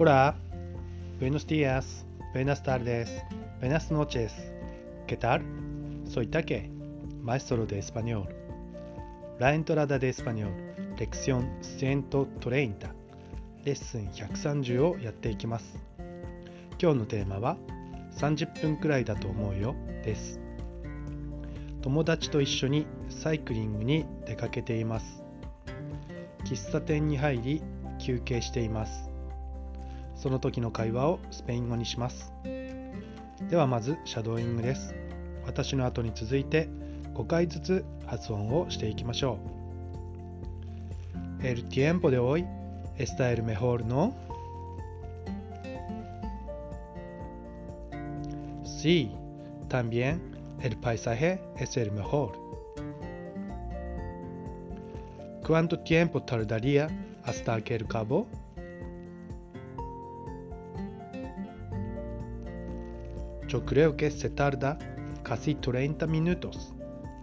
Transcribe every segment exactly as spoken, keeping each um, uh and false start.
Hola, buenos días, buenas tardes, buenas noches. ¿Qué tal? Soy Take, maestro de español. La entrada de español, lección ciento treinta、レッスンひゃくさんじゅうをやっていきます。今日のテーマは、さんじゅっぷんくらいだと思うよです。友達と一緒にサイクリングに出かけています。喫茶店に入り休憩しています。その時の会話をスペイン語にします。ではまずシャドーイングです。私の後に続いてごかいずつ発音をしていきましょう。El tiempo de hoy está el mejor, ¿no? Sí, también el paisaje es el mejor. ¿Cuánto tiempo tardaría hasta aquel cabo? Yo creo que se tarda casi treinta minutos.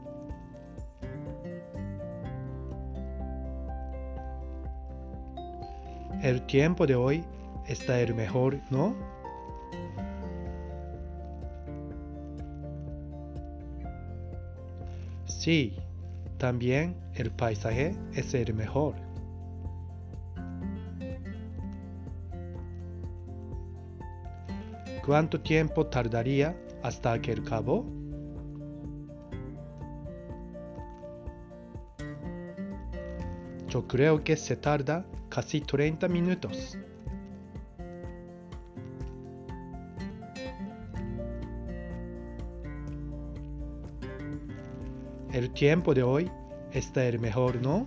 El tiempo de hoy está el mejor, ¿no? Sí, también el paisaje es el mejor. ¿Cuánto tiempo tardaría hasta aquel cabo? Yo creo que se tarda casi treinta minutos. El tiempo de hoy está el mejor, ¿no?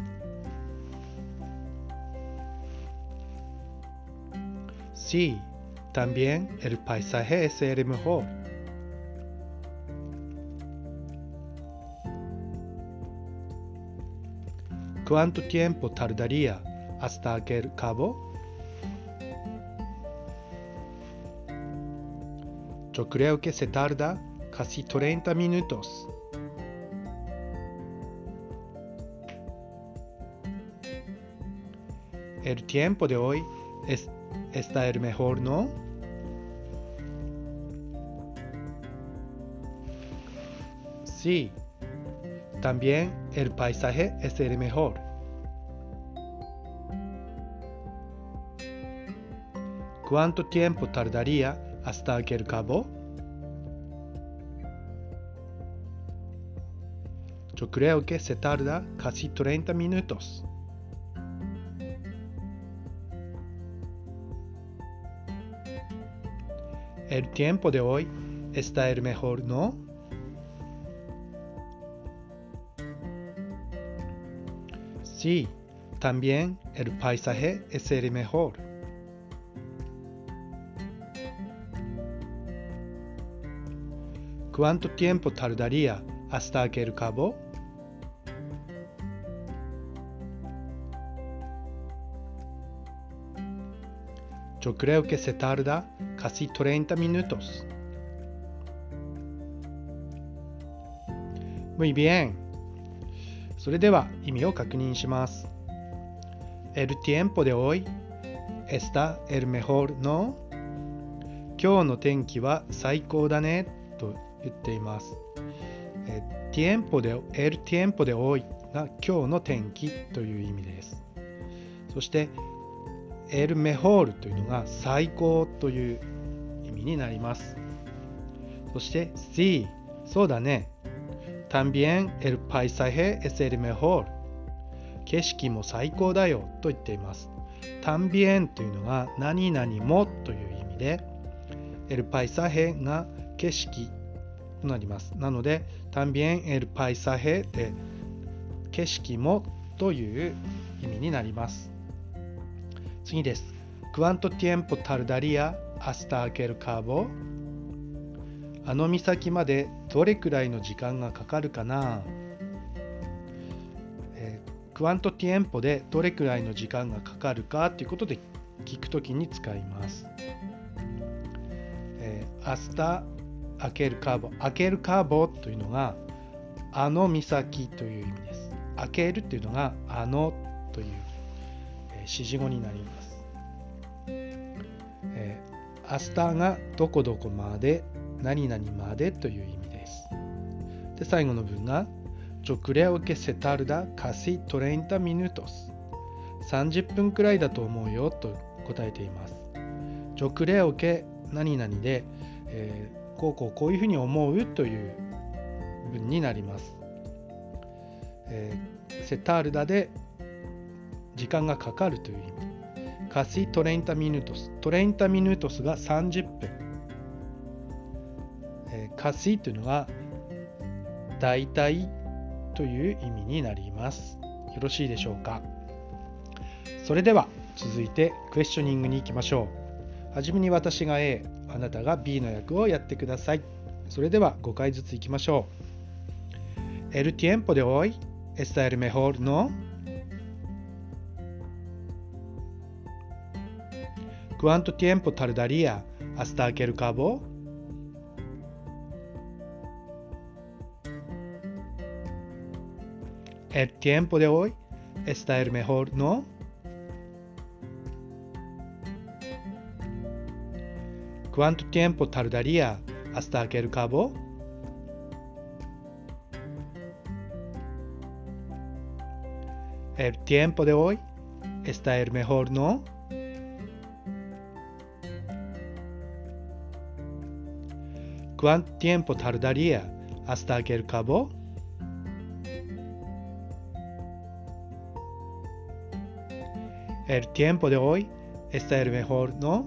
Sí, también el paisaje es el mejor. ¿Cuánto tiempo tardaría hasta aquel cabo? Yo creo que se tarda casi treinta minutos. El tiempo de hoy es, está el mejor, ¿no? Sí, también el paisaje es el mejor. ¿Cuánto tiempo tardaría hasta aquel cabo? Yo creo que se tarda casi treinta minutos. El tiempo de hoy está el mejor, ¿no? Sí, también el paisaje es el mejor. ¿Cuánto tiempo tardaría hasta aquel cabo? Yo creo que se tarda casi treinta minutos. Muy bien. それでは意味を確認します。El tiempo de hoy está el mejor, ¿no? 今日の天気は最高だねと言っています。え tiempo de, el tiempo de hoy が今日の天気という意味です。そしてEl mejor というのが最高という意味になります。そして Sí、そうだね。También el paisaje es el mejor。景色も最高だよと言っています。También というのが何々もという意味で、el paisaje が景色となります。なので、También el paisaje で景色もという意味になります。次です。¿Cuánto tiempo tardaría hasta aquel cabo? あの岬までどれくらいの時間がかかるかな、えー、¿Cuánto tiempo でどれくらいの時間がかかるかということで聞くときに使います。えー、hasta aquel cabo。aquel cabo というのがあの岬という意味です。aquel というのがあのという指示語になります。 明日がどこどこまで何々までという意味です。で、最後の文がYo creo que se tarda casi treinta minutos。さんじゅっぷんくらいだと思うよと答えています。Yo creo que何々で、えー、こうこうこういうふうに思うという文になります。えー、se tardaで時間がかかるという意味。casi treinta minutos。treinta minutos がさんじゅっぷん。えー、casi というのが大体という意味になります。よろしいでしょうか。それでは続いてクエスチョニングに行きましょう。はじめに私が A、あなたが B の役をやってください。それではごかいずつ行きましょう。El tiempo de hoy está el mejor, ¿no? ¿Cuánto tiempo tardaría hasta que el cabo? El tiempo de hoy está el mejor, ¿no? ¿Cuánto tiempo tardaría hasta que el cabo? El tiempo de hoy está el mejor, ¿no? ¿Cuánto tiempo tardaría hasta que el cabo? El tiempo de hoy está el mejor, ¿no?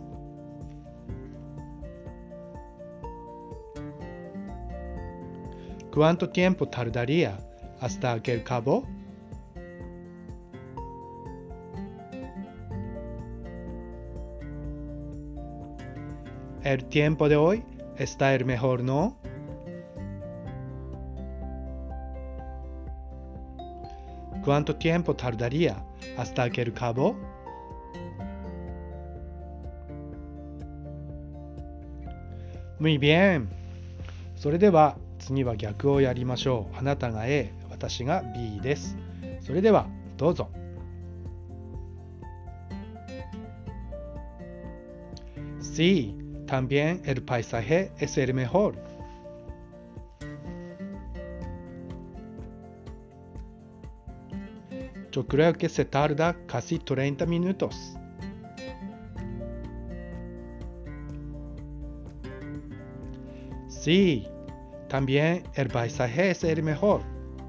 ¿Cuánto tiempo tardaría hasta que el cabo? El tiempo de hoy está el mejor, ¿no? ¿Cuánto tiempo tardaría hasta que el cabo? Muy bien。それでは次は逆をやりましょう。あなたが A、私が B です。それではどうぞ。Sí, también el paisaje es el mejor. Yo creo que se tarda casi treinta minutos. Sí, también el paisaje es el mejor.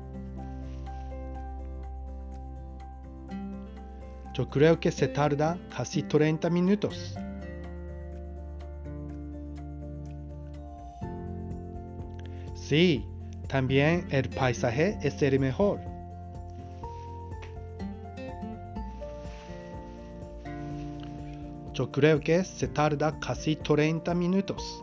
Yo creo que se tarda casi treinta minutos. Sí, también el paisaje es el mejor. Yo creo que se tarda casi treinta minutos.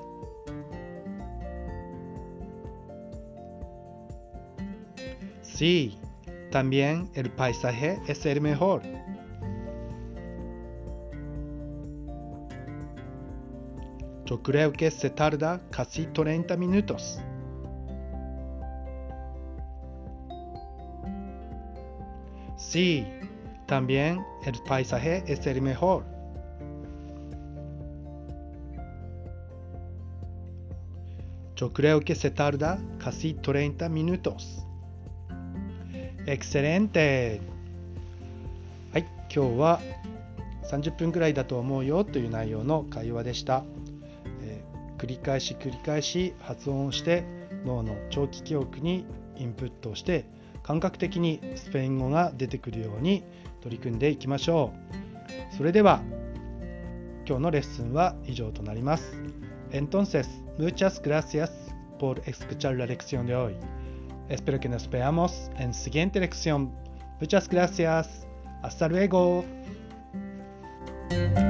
Sí, también el paisaje es el mejor. Yo creo que se tarda casi treinta minutos. Sí, también el paisaje es el mejor. Yo creo que se tarda casi treinta minutos. Excelente! はい、今日はさんじゅっぷんくらいだと思うよという内容の会話でした。えー、繰り返し繰り返し発音をして脳の長期記憶にインプットをして感覚的にスペイン語が出てくるように取り組んでいきましょう。それでは今日のレッスンは以上となります。Entonces, muchas gracias por escuchar la lección de hoy. Espero que nos veamos en la siguiente lección. Muchas gracias. Hasta luego.